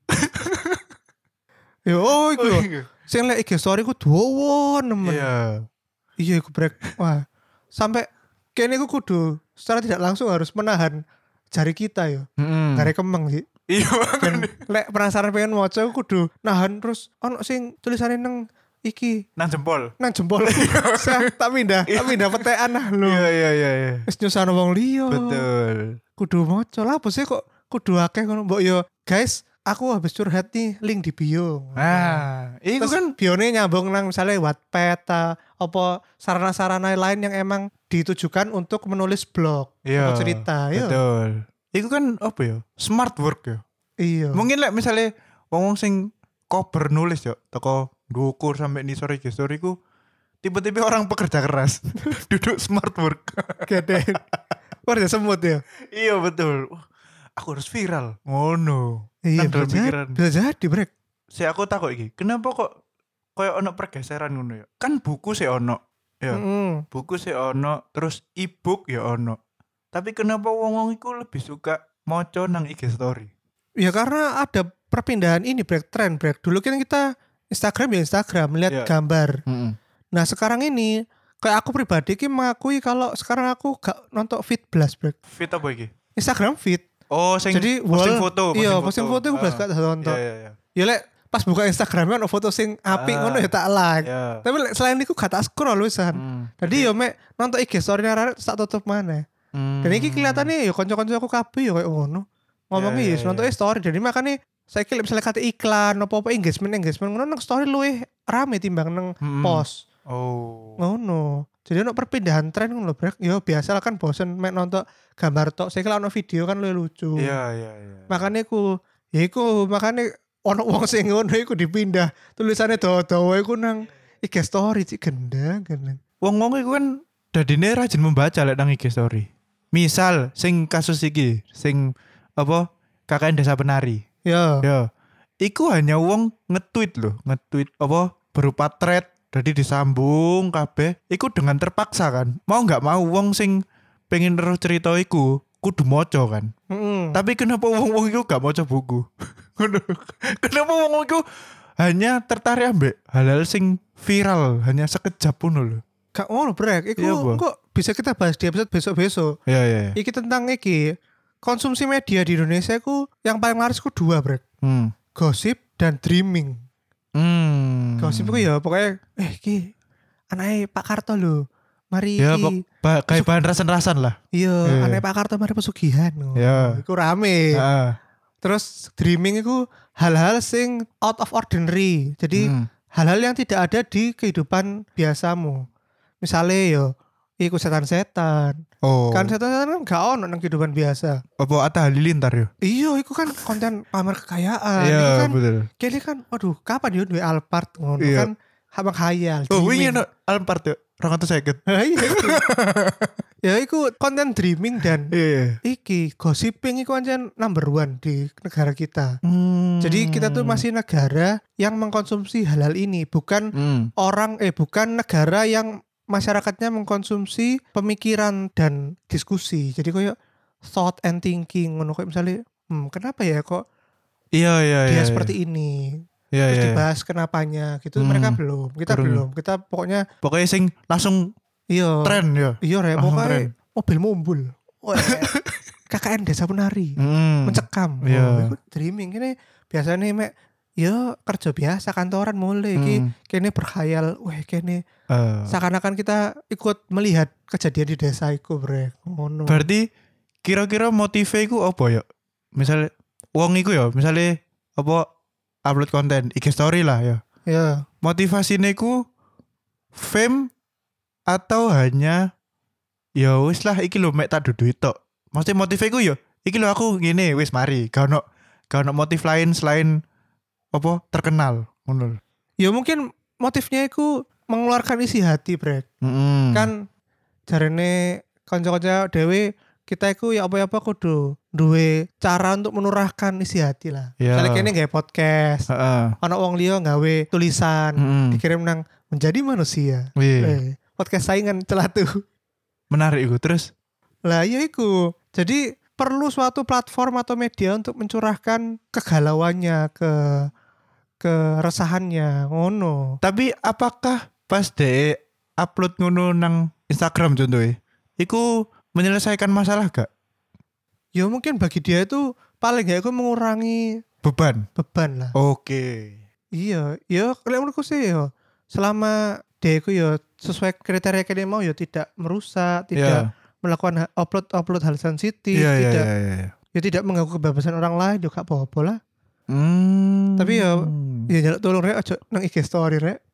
B: Yo iku. Sing lek IG story ku dawa nemen.
A: Iya.
B: Iya iku Brek. Wah. Sampai kene iku kudu secara tidak langsung harus menahan jari kita yo. Gare kemeng sih.
A: Iya.
B: Dan lek penasaran pengen maca aku kudu nahan terus ono sing tulisane nang iki
A: Nang jempol.
B: nang jempol. Saya tak pindah petean lah lho.
A: Iya.
B: Wis nyusahno wong liya.
A: Betul.
B: Kudu maca lah apa sih kok kudu akeh ngono mbok yo. Guys, aku habis curhat nih link di bio.
A: Nah, iku
B: Terus
A: kan
B: bione nyambung nang misalnya Wattpad apa sarana-sarana lain yang emang ditujukan untuk menulis blog atau cerita ya.
A: Betul. Iku kan apa ya? Smart work ya.
B: Iya.
A: Mungkin lek misalnya wong sing kober nulis yo teko ndukur sampai nisor iki story ku tiba-tiba orang pekerja keras duduk smart work.
B: Gede. Warna semut ya.
A: Iya betul. Wah, aku harus viral. Ngono.
B: Iya,
A: Kan dalam pikiran.
B: bisa jadi Brek.
A: Si aku takut iki. Kenapa kok koyo ono pergeseran ngono ya? Kan buku sih ono. Ya. Buku sih ono, terus e-book ya ono. Tapi kenapa wong-wong iku lebih suka moco nang IG story?
B: Ya karena ada perpindahan ini tren Brek. Dulu kan kita Instagram lihat gambar. Nah sekarang ini kayak aku pribadi ki mengakui kalau sekarang aku gak nonton feed blast Brek.
A: Feed apa iki?
B: Instagram feed.
A: Oh, sing
B: jadi
A: posting foto.
B: Iya, posting foto aku belas gak nonton.
A: Iya.
B: Ya lek pas buka Instagram ono foto sing apik ngono ya tak like.
A: Iya.
B: Tapi lek selain iku gak tak scroll wisan. Jadi yo mek nonton IG story arek tak tutup maneh. Dan iki kelihatannya ya kanca-kanca aku kabeh ya kayak ngono. Ngomongnya ya nonton story. Jadi makanya saya kira misalnya kata iklan apa engagement ngono nang story luwih rame timbang nang post.
A: Oh.
B: Ngono. Jadi ono perpindahan tren ngono lho, Brek. Ya biasa lah kan bosen mek nonton gambar tok. Saya kira ono video kan luwih lucu.
A: Iya.
B: Makanya makanya ono wong sing ngono iku dipindah. Tulisannya dawa-dawa iku nang IG story cik gendang.
A: Wong-wong iku kan dadine rajin membaca lek nang IG story. Misal sing kasus iki, sing apa KKN Desa Penari.
B: Ya.
A: Iku hanya wong nge-tweet apa berupa thread, jadi disambung kabeh. Iku dengan terpaksa kan. Mau nggak mau wong sing pengen terus cerita iku kudu moco kan. Tapi kenapa wong-wong iku gak moco buku? Kenapa wong iku hanya tertarik ambek hal-hal sing viral hanya sekejap pun lho.
B: Gak ngono Brek, iku kok bisa kita bahas di episode besok-besok.
A: Iya.
B: Iki tentang konsumsi media di Indonesia ku yang paling laris ku 2 Brek. Gosip dan dreaming. Gosip ku ya pokoknya iki anake Pak Karto lho. Mari
A: ya, kayak bahan rasan-rasan lah.
B: Iya, anake Pak Karto mari pesugihan.
A: Iya.
B: Iku rame. Terus dreaming itu hal-hal sing out of ordinary. Jadi hal-hal yang tidak ada di kehidupan biasamu. Misalnya iku setan-setan.
A: Oh.
B: Kan setan-setan kan gak ono nang kehidupan biasa.
A: Apa Atta Halilintar yo?
B: Iya, iku kan konten pamer kekayaan.
A: Iya,
B: Iku kan
A: betul.
B: kene kan aduh, kapan yo duwe Alphard ngono
A: Iya.
B: kan habang khayal.
A: Oh, wingi
B: dreaming.
A: no Alphard yo. 250.
B: Iya, iku. Ya iku konten dreaming dan
A: Iya.
B: iki gossiping iku ancen number one di negara kita.
A: Hmm.
B: Jadi kita tuh masih negara yang mengkonsumsi hal-hal ini, bukan bukan negara yang masyarakatnya mengkonsumsi pemikiran dan diskusi. Jadi kayak thought and thinking ngono kayak misalnya, kenapa ya kok
A: Iya.
B: dia seperti ini?
A: Iya,
B: Terus
A: iya.
B: dibahas kenapanya gitu. Mereka belum, kita
A: Belum.
B: belum. Kita pokoknya
A: Pokoknya sing langsung
B: iya.
A: tren ya.
B: Iya rek,
A: Langsung
B: pokoknya
A: tren.
B: mobil mumbul. Wah, KKN Desa Penari. Mencekam.
A: Iya.
B: Oh, iku dreaming ini biasanya mek ya kerja biasa kantoran mulai iki kene berkhayal, wah kene seakan-akan kita ikut melihat kejadian di desa iku brek. Ngono.
A: Berarti kira-kira motive iku apa ya? Misalnya wong iku ya, misalnya apa upload konten IG story lah ya.
B: Ya.
A: Motivasinya iku fame atau hanya ya wis lah iki lho mek tak dudu tok. Maksudnya motive iku ya iki lho aku ngene wis mari. Gak ono motif lain selain apa terkenal ngono.
B: Ya mungkin motifnya iku mengeluarkan isi hati brek. Kan jarene kanca-kanca dhewe kita iku ya apa-apa kudu duwe cara untuk menurahkan isi hati lah.
A: Yeah.
B: Misalnya kene gawe podcast, ana wong liya gawe tulisan, dikirim nang menjadi manusia. Podcast saingan celatu.
A: Menarik iku terus.
B: Lah iya iku. Jadi perlu suatu platform atau media untuk mencurahkan kegalauannya, keresahannya, ngono.
A: Tapi apakah pas de upload ngono nang Instagram contohnya, iku menyelesaikan masalah gak?
B: Ya mungkin bagi dia itu paling gak itu mengurangi
A: beban
B: lah.
A: Oke.
B: Iya, ya kalau menurutku sih ya selama dia itu ya sesuai kriteria yang dia mau ya tidak merusak, tidak melakukan upload hal sensitif, tidak ya tidak mengganggu kebebasan orang lain juga apa-apa lah. Tapi ya jaluk tolong rek aja nang IG story rek.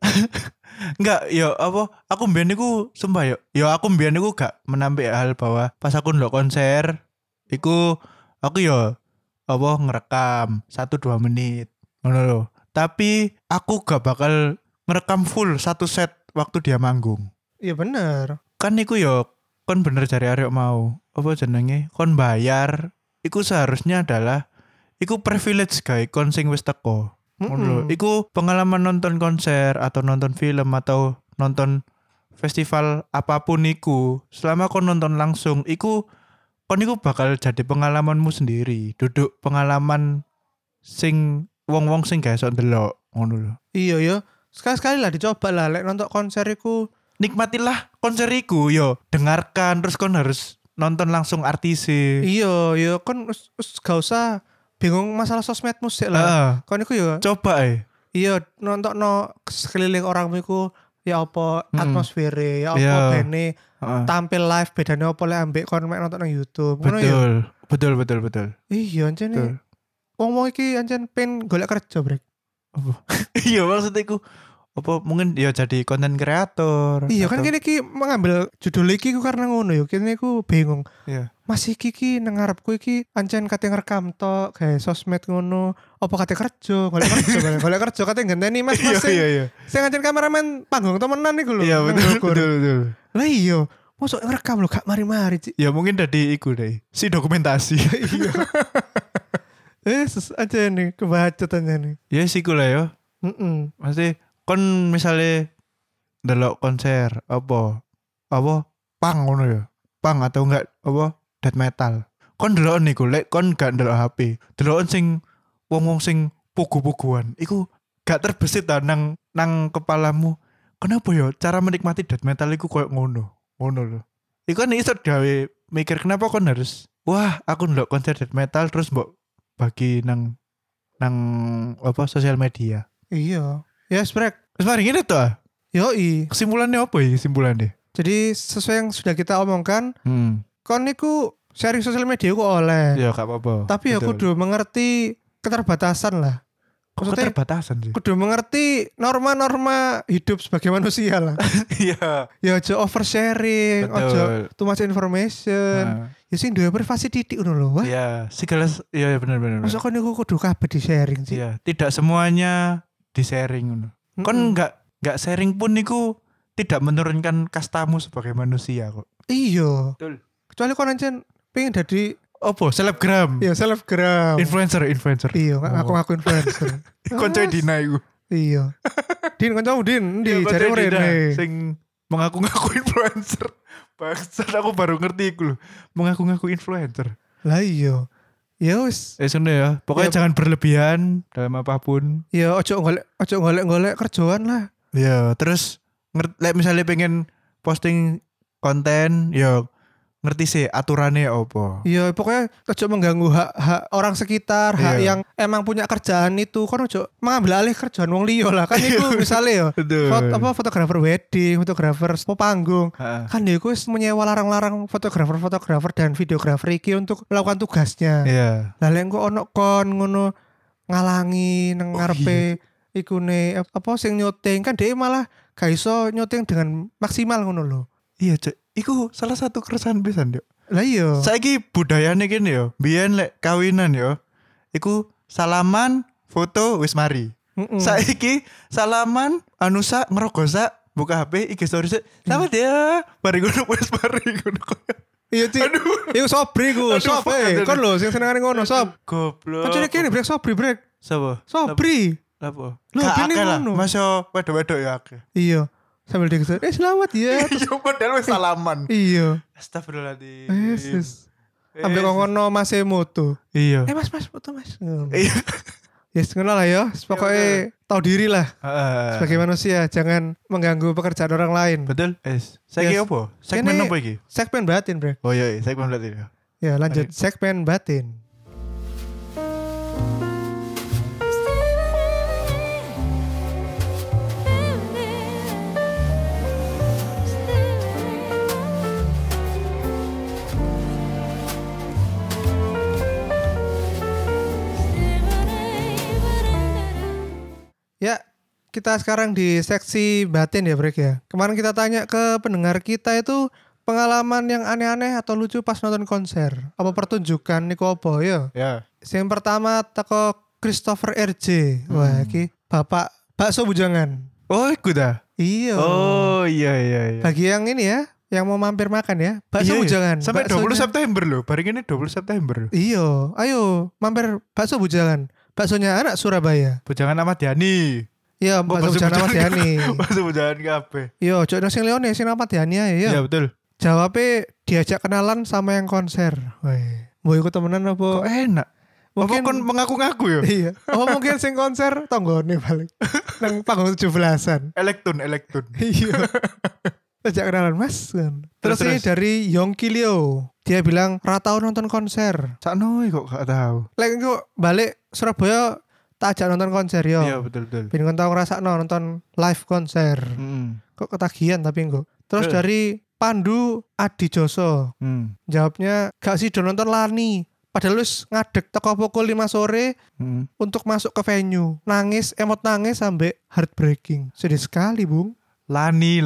A: Enggak, ya apa? Aku mbiyen niku sumpah ya aku mbiyen niku gak menampik hal bahwa pas aku ndelok konser iku aku ya apa ngerekam 1-2 menit. Ngono lho. Tapi aku gak bakal ngerekam full satu set waktu dia manggung.
B: Iya bener.
A: Kan iku ya kon bener cari arek mau. Apa jenenge? Kon bayar. Iku seharusnya adalah iku privilege gawe kon sing wis teko. Iku pengalaman nonton konser atau nonton film atau nonton festival apapun iku, selama kon nonton langsung iku kon iku bakal jadi pengalamanmu sendiri, duduk pengalaman sing wong-wong sing gak iso ndelok ngono lho.
B: Iya ya, sekali-sekali lah dicoba lah lek nonton konser iku.
A: Nikmatilah konser iku yo, dengarkan terus kon harus nonton langsung artise.
B: Iya, ya kon gak usah bingung masalah sosmed musik lah. Kon iku ya
A: coba
B: iya nonton sekeliling orang iku ya apa atmosfere, ya apa bene tampil live bedane apa lek ambek kon mek nonton nang YouTube.
A: Betul.
B: Iya ancene. Wong iki ancen pen golek kerja, Brek.
A: Apa? Iya maksudnya iku apa mungkin ya jadi konten kreator.
B: Iya kan kene iki mengambil judul iki ku karena ngono ya. Kene ku bingung.
A: Iya.
B: Masih iki nang ngarepku iki ancen kate ngerekam tok gawe sosmed ngono. Apa kate kerja, golek kerja kate ngenteni Mas.
A: Iya.
B: Sing ancen kameramen panggung temenan iku lho.
A: Iya betul.
B: Lah iya, mosok ngerekam lho gak mari-mari, Cik.
A: Ya mungkin dari iku deh. Si dokumentasi.
B: Iya. Aja nih kebacut aja nih.
A: Ya siku lah ya. Maksudnya kon misalnya ndelok konser apa pang ngono ya. Pang atau enggak apa death metal. Kon ndelok niku lek kon gak ndelok HP. Ndelok sing wong-wong sing pugu-puguan. Iku gak terbesit ta nang kepalamu. Kenapa ya cara menikmati death metal iku koyo ngono lho. Iku kan iso gawe mikir kenapa kon harus wah aku ndelok konser death metal terus mbok bagi nang apa sosial media.
B: Iya. Ya sprek.
A: Wis mari ngene to.
B: Yoi.
A: Kesimpulannya apa ya kesimpulannya?
B: Jadi sesuai yang sudah kita omongkan, kon niku sharing sosial media ku oleh.
A: Ya gak apa-apa.
B: Tapi ya kudu mengerti keterbatasan lah. Maksudnya
A: keterbatasan sih.
B: kudu mengerti norma-norma hidup sebagai manusia lah.
A: Iya.
B: Ya aja oversharing,
A: Betul.
B: aja too much information.
A: Nah,
B: Ya sing duwe privasi titik ngono lho. Wah,
A: iya, segala iya benar.
B: masa kon niku kudu kabeh di sharing sih.
A: Iya, tidak semuanya di sharing ngono. Kon enggak sharing pun niku tidak menurunkan kastamu sebagai manusia kok.
B: Iya.
A: Betul.
B: Kecuali kon ancen pengen dadi
A: Opo, selebgram.
B: ya selebgram.
A: Influencer.
B: Iya, ngaku influencer.
A: Konco Dina iku.
B: Iya. Din kancamu Din,
A: Iya,
B: ndi
A: konco
B: jare
A: Dina
B: mrene.
A: sing mengaku-ngaku influencer. Bangsat aku baru ngerti iku lho. Mengaku-ngaku influencer.
B: Lah iya. Ya wis,
A: Ngono ya. Pokoknya
B: Ya.
A: jangan berlebihan dalam apapun.
B: ya ojo golek kerjaan lah.
A: Ya, terus misalnya pengen posting konten, ya ngerti sih aturannya apa.
B: Iya, pokoknya ojo mengganggu hak orang sekitar, hak
A: Iya.
B: yang emang punya kerjaan itu. Kan ojo mengambil alih kerjaan wong liya lah. Kan itu misalnya ya,
A: Betul.
B: fotografer wedding, fotografer panggung.
A: Ha.
B: Kan dia wis menyewa larang-larang fotografer dan videografer iki untuk melakukan tugasnya.
A: Iya.
B: Lah lek engko ono kon ngono ngalangi nang
A: Oh,
B: ngarepe ikune apa sing nyuting kan dia malah gak iso nyuting dengan maksimal ngono lho.
A: Iya, Cek. Iku salah satu keresahan pisan, Dok.
B: Lah iya.
A: Saiki budayane kene yo. Biyen lek kawinan yo, iku salaman, foto wis mari.
B: Mm-mm.
A: Saiki salaman, anu sak ngerogo sak, buka HP, IG story sik. Selamat ya. Mari ngono wis mari ngono.
B: Iya Ci.
A: Aduh.
B: Iku sobri ku,
A: Aduh,
B: sob
A: aduh.
B: kon lho sing senengane ngono, sob.
A: Goblok.
B: Kancane kene brek sobri brek.
A: Sapa?
B: Sobri.
A: Apa?
B: Lho,
A: Gak
B: gini
A: akeh lah.
B: ngono.
A: Masa wedok-wedok ya akeh.
B: Iya. Sambil dia gitu, selamat ya.
A: Iya, padahal wis salaman.
B: Iya.
A: Astagfirullahaladzim.
B: Yesus. Sampai ngono Mas moto.
A: Iya.
B: Mas foto Mas.
A: Iya.
B: Yes, ngono lah ya. Pokoknya tahu diri lah
A: Heeh.
B: sebagai manusia, jangan mengganggu pekerjaan orang lain.
A: Betul. Saiki
B: Yes.
A: apa? Segmen
B: Kene-
A: apa iki?
B: Segmen batin, Brek.
A: Oh iya, segmen berarti ya.
B: Ya, lanjut segmen batin. Ya, kita sekarang di seksi batin ya, Brek ya. Kemarin kita tanya ke pendengar kita itu pengalaman yang aneh-aneh atau lucu pas nonton konser. Apa pertunjukan niku apa ya?
A: Ya.
B: Yang pertama teko Christopher RJ. Wah, iki Bapak bakso bujangan.
A: Oh, iku dah.
B: Iya.
A: Oh, iya.
B: Bagi yang ini ya, yang mau mampir makan ya, bakso
A: Iya, iya.
B: bujangan.
A: Sampai
B: Baksonya-
A: 20 September loh. Bareng ini 20 September.
B: Iya, ayo mampir bakso bujangan. Baksonya anak Surabaya.
A: Bujangan Ahmad Yani.
B: Iya, bakso bujangan Ahmad Yani.
A: Bakso bujangan kabeh.
B: Iya, ojo nang sing Leone sing Ahmad Yani ae ya.
A: Iya, betul.
B: Jawabnya diajak kenalan sama yang konser. Woi, mau ikut temenan
A: Kok
B: apa?
A: enak.
B: Mungkin
A: Apa kon mengaku-ngaku ya?
B: iya. Oh mungkin sing konser tonggone balik. Nang panggung 17-an.
A: Elektun.
B: Iya. Ajak kenalan Mas. Terus ini
A: Terus.
B: dari Yongki Leo. Dia bilang ratau nonton konser.
A: Sakno kok gak tahu.
B: Lek kok balik Surabaya tak ajak nonton konser yo.
A: Iya, betul.
B: Ben kon tau ngrasakno nonton live konser.
A: Hmm.
B: Kok ketagihan tapi enggak. Terus
A: Eh.
B: dari Pandu Adi Joso.
A: Hmm.
B: Jawabnya gak sih do nonton Lani. Padahal wis ngadeg teko pukul 5 sore
A: Hmm.
B: untuk masuk ke venue. Nangis, emot nangis sampai heartbreaking. Sedih sekali, Bung.
A: Lani.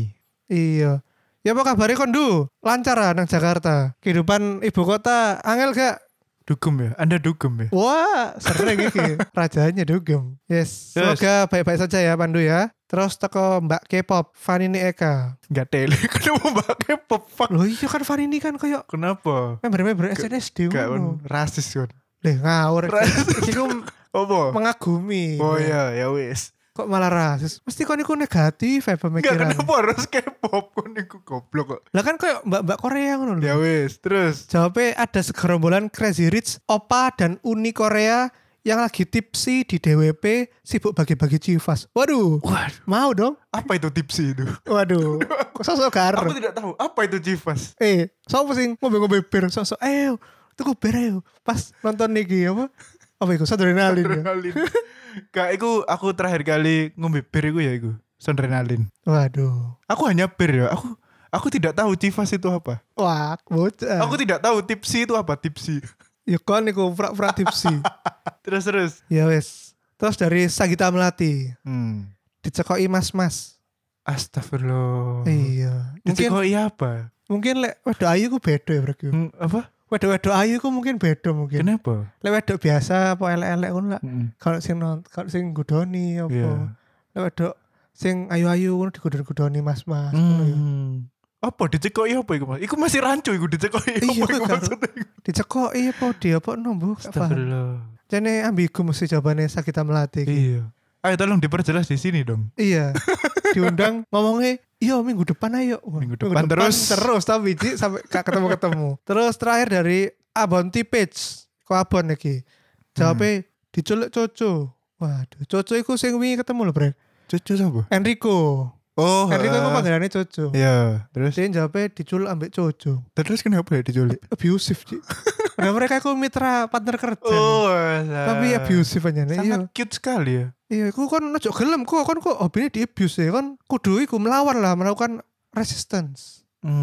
B: Iya. Ya apa kabarnya kondu? Lancar ah nang Jakarta. Kehidupan ibu kota angel gak?
A: Dugem ya? Anda dugem ya?
B: Wah, sering iki. Rajanya dugem. Yes. Semoga baik-baik saja ya Pandu ya. Terus teko Mbak K-pop, Vanini Eka.
A: Gak tele. Kenapa pakai pop fuck?
B: Loh iya kan Vanini kan kayak
A: Kenapa?
B: member-member SNSD
A: Gak
B: ngono.
A: rasis kan?
B: Leh ngawur. Iki ku
A: Apa?
B: mengagumi.
A: Oh iya, ya wis.
B: Kok malah rasis? Mesti kon iku negatif ya
A: Enggak,
B: pemikiran.
A: kenapa harus K-pop kon iku goblok kok.
B: Lah kan kayak mbak-mbak Korea ngono lho.
A: Ya wis, terus.
B: Jawabnya ada segerombolan Crazy Rich, Opa dan Uni Korea yang lagi tipsi di DWP sibuk bagi-bagi civas. Waduh,
A: Waduh,
B: mau dong?
A: apa itu tipsi itu?
B: Waduh, kok sosok gar.
A: Aku tidak tahu apa itu Civas.
B: Sopo sing ngombe-ngombe bir sosok tuku bir ayo. Pas nonton niki apa? Apa iku adrenalin ya?
A: Adrenalin. Kak, aku terakhir kali ngombe bir iku ya iku. Adrenalin.
B: Waduh.
A: Aku hanya bir ya. Aku tidak tahu Civas itu apa.
B: Wah, bocah.
A: Aku tidak tahu tipsi itu apa, tipsi.
B: Ya kon niku pura-pura tipsi.
A: Terus.
B: Ya wes. Terus dari Sagita Melati dicekoki mas-mas.
A: Astagfirullah.
B: Iya.
A: Dicekoki apa?
B: Mungkin lek wedok ayu ku beda ya bro.
A: Apa?
B: Wedok ayu ku mungkin beda mungkin.
A: Kenapa?
B: Lek wedok biasa apa elek-elek ngono lah. Kalau sing gudoni apa.
A: Iya.
B: Lek wedok sing ayu-ayu ngono digudoni mas-mas ngono ya.
A: Apa dicekoki apa iku Mas? Iku masih rancu iku dicekoki
B: Iya,
A: apa iku
B: kan.
A: maksudnya?
B: Dicekoki apa dia apa nombo gak paham.
A: Astagfirullah.
B: Jane ambigu mesti jawabannya Sagita Melati.
A: Iya. Ayo tolong diperjelas di sini dong.
B: Iya. Diundang ngomongnya, iya minggu depan ayo. Wah,
A: Minggu depan terus
B: tapi Ji, sampai gak ketemu. Terus terakhir dari Abonti Page. Kok Abon iki? Jawabnya diculik Coco. Waduh, Coco iku sing wingi ketemu lho, Brek.
A: Cucu siapa?
B: Enrico.
A: Oh,
B: Enrico iku panggilannya Coco.
A: Iya, terus
B: Dia jawabnya diculik ambek Coco.
A: terus kenapa ya diculik?
B: Abusive, Ji. Nah, mereka iku mitra partner kerja.
A: Oh,
B: Tapi abusive aja nih.
A: sangat cute sekali ya.
B: Iya, aku kan ojo gelem, kok hobinya di abuse ya kan. Kudu iku melawan lah, melakukan resistance.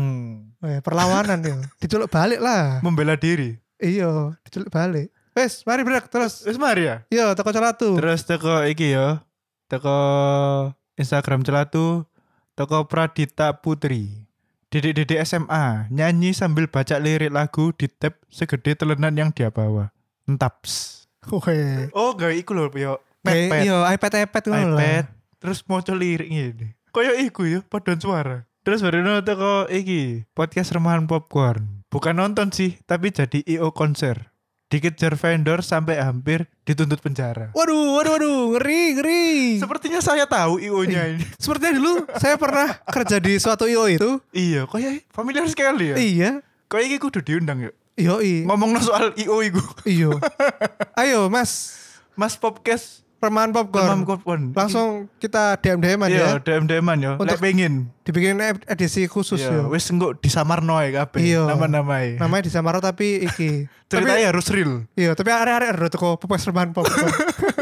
B: Perlawanan ya. Diculuk balik lah.
A: Membela diri.
B: Iya, diculuk balik. Wes, mari Brek terus.
A: Wis mari ya.
B: Iya, toko celatu.
A: Terus teko iki ya. Teko Instagram celatu, teko Pradita Putri. Dedek-dedek SMA nyanyi sambil baca lirik lagu di tab segede telenan yang dia bawa. Entaps.
B: Oke.
A: Oh, gak iku lho yo.
B: Iya, iPad ngono lah.
A: iPad terus maca lirik ngene. Kayak iku ya, paduan suara. Terus baru teko iki, podcast Remahan Popcorn. Bukan nonton sih, tapi jadi IO konser. Dikejar vendor sampai hampir dituntut penjara.
B: Waduh, ngeri.
A: Sepertinya saya tahu IO-nya ini.
B: Sepertinya dulu saya pernah kerja di suatu IO itu.
A: Iya, kayak familiar sekali ya.
B: Iya.
A: Kayak iki kudu diundang ya.
B: Iya.
A: Ngomongno soal IO iku.
B: Iya. Ayo, Mas
A: Podcast
B: Remahan Popcorn. Langsung kita DM-an
A: Iya,
B: ya.
A: DM-an ya.
B: Untuk
A: Lek pengen.
B: dibikin edisi khusus
A: Iya,
B: ya.
A: wis engko disamarno ae kabeh
B: Iya.
A: nama-namae.
B: Namanya disamaro tapi iki.
A: Ceritanya harus real.
B: Iya, tapi arek-arek ero teko Popes Remahan Popcorn.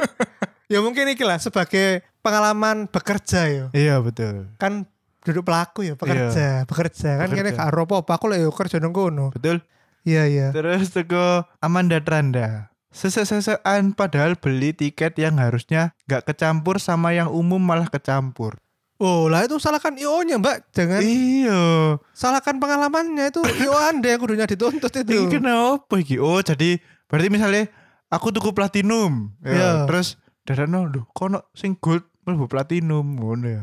B: Ya mungkin iki lah sebagai pengalaman bekerja ya.
A: Iya, betul.
B: Kan duduk pelaku ya, bekerja kan kene gak ero apa-apa aku lek yo kerja nang kono.
A: Betul.
B: Iya.
A: Terus teko Amanda Tranda. Sese-sesean padahal beli tiket yang harusnya gak kecampur sama yang umum malah kecampur.
B: Oh lah itu salahkan IO-nya Mbak. Jangan
A: Iya.
B: salahkan pengalamannya itu IO Anda yang kudunya dituntut itu.
A: Ini kenapa iki? Oh jadi berarti misalnya aku tuku platinum. Ya,
B: Iya.
A: terus dadakno lho kono sing gold mlebu platinum ngono ya.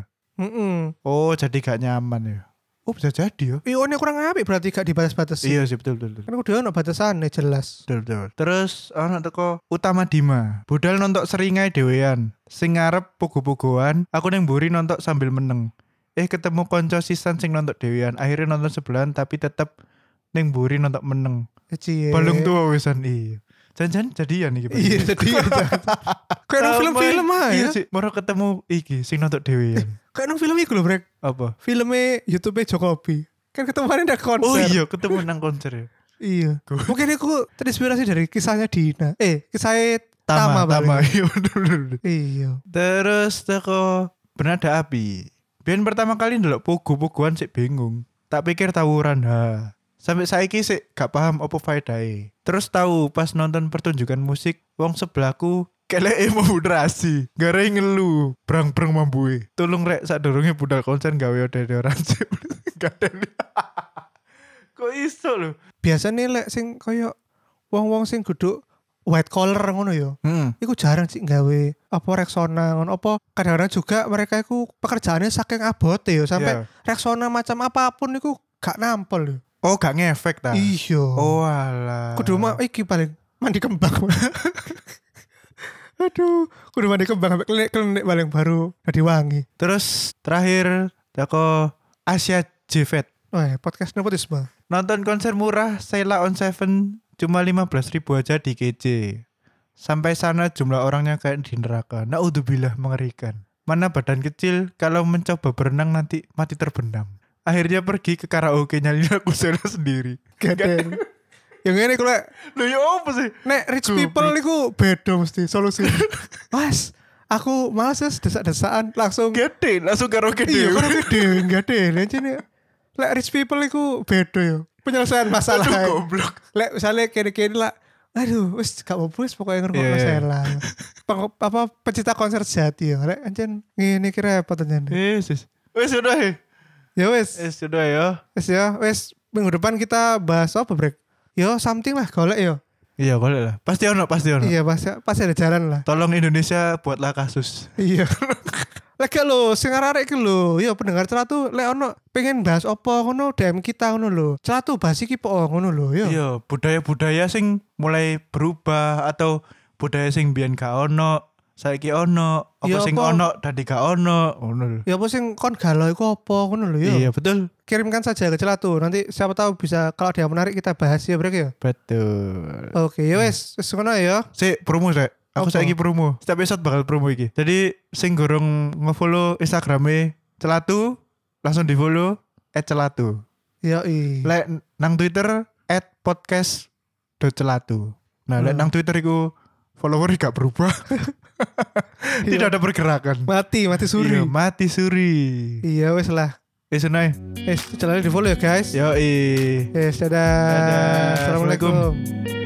A: Oh jadi gak nyaman ya. Oh bisa jadi ya.
B: IO-nya kurang apik berarti gak dibatas-batas.
A: Iya sih betul.
B: Kan kudu ono batasannya jelas.
A: Betul. Terus ana teko Utama Dima. Budal nonton seringai dhewean. Sing ngarep pogo-pogoan, aku ning mburi nonton sambil meneng. Ketemu konco sisan sing nonton dhewean. Akhirnya nonton sebelahan tapi tetep ning mburi nonton meneng.
B: Cie.
A: Balung tua wisan iya. Jangan jadian iki.
B: Iya jadian. Kayak nang film-film aja.
A: Iya sih, moro ketemu iki sing nonton dhewean.
B: Kayak nang film iku lho, Brek.
A: Apa?
B: Filmnya YouTube Jokowi. Kan ketemuannya ada konser.
A: Oh iya, ketemu nang konser ya.
B: Iya. Mungkin aku terinspirasi dari kisahnya Dina. Kisahnya Tama.
A: Iya bener.
B: Iya.
A: Terus teko Bernada Api. Biyen pertama kali ndelok pogo-pogoan sik bingung. Tak pikir tawuran ha. Sampai saiki sik gak paham apa faedahe. Terus tahu pas nonton pertunjukan musik wong sebelahku keleke moderasi. Gara ngelu, brang-brang mambuhe. Tolong rek sadurunge budal konser gawe deodoransi. Gak ada. Kok iso lho?
B: Biasanya lek sing koyo wong-wong sing duduk white collar ngono ya. Iku jarang sih gawe apa Rexona ngono apa kadang-kadang juga mereka iku pekerjaannya saking abote ya sampai Rexona macam apapun iku gak nampol ya.
A: Oh gak ngefek ta?
B: Iya.
A: Oh alah.
B: Kudu iki paling mandi kembang. Aduh, kudu mandi kembang sampai klenik paling baru jadi wangi.
A: Terus terakhir teko Asia Jvet.
B: Podcast nepotisme.
A: Nonton konser murah Sheila on Seven cuma 15.000 aja di KJ. Sampai sana jumlah orangnya kayak di neraka. Naudzubillah, mengerikan. Mana badan kecil kalau mencoba berenang nanti mati terbenam. Akhirnya pergi ke karaoke nyanyi lagu Sheila sendiri.
B: Gaden. Yang ini kalau
A: Loh ya apa sih?
B: nek rich people iku beda mesti solusi. Mas, aku males ya desak-desakan langsung
A: Gede, langsung karaoke
B: iya
A: dhewe.
B: karaoke dhewe gede aja nih. Lek rich people iku beda ya. Penyelesaian masalah.
A: Aduh goblok.
B: Lek misalnya kene-kene lah Aduh, wis gak apa-apa wis pokoknya ngrungokno
A: Iya.
B: Sela. Apa pecinta konser sejati ya. Rek anjen ngene iki repot anjen.
A: Wis sudah ya.
B: Ya wis.
A: Sudah ya.
B: Wis ya, wis minggu depan kita bahas apa, Brek? Yo something lah golek yo.
A: Iya boleh lah. Pasti ono.
B: Iya, pasti ada jalan lah.
A: Tolong Indonesia buatlah kasus.
B: Iya. Lek lho sing arek iki lho, yo pendengar celatu lek ono pengen bahas apa ngono DM kita ngono lho. Celatu bahas iki po ngono lho, yo.
A: Iya, budaya-budaya sing mulai berubah atau budaya sing biyen gak ono, saiki ono, apa
B: Iya,
A: sing
B: apa?
A: ono dadi gak ono, ngono lho.
B: Ya apa sing kon galau iku apa ngono lho, yo.
A: Iya, betul.
B: Kirimkan saja ke celatu. Nanti siapa tahu bisa kalau ada yang menarik kita bahas ya, Brek ya.
A: Betul.
B: Oke, ya wes ngono ya.
A: Sik promo rek. Aku
B: Apa?
A: saiki promo. Setiap episode bakal promo iki. Jadi sing gorong nge-follow Instagrame Celatu langsung di-follow @celatu.
B: Ya
A: Lek nang Twitter @podcast.celatu. Nah, lek nang Twitter iku follower gak berubah. Tidak ada pergerakan.
B: mati suri.
A: Iya, mati suri.
B: Iya wes lah.
A: Sunai.
B: Jalan di follow ya guys.
A: Yo
B: Dadah.
A: Dadah.
B: Assalamualaikum.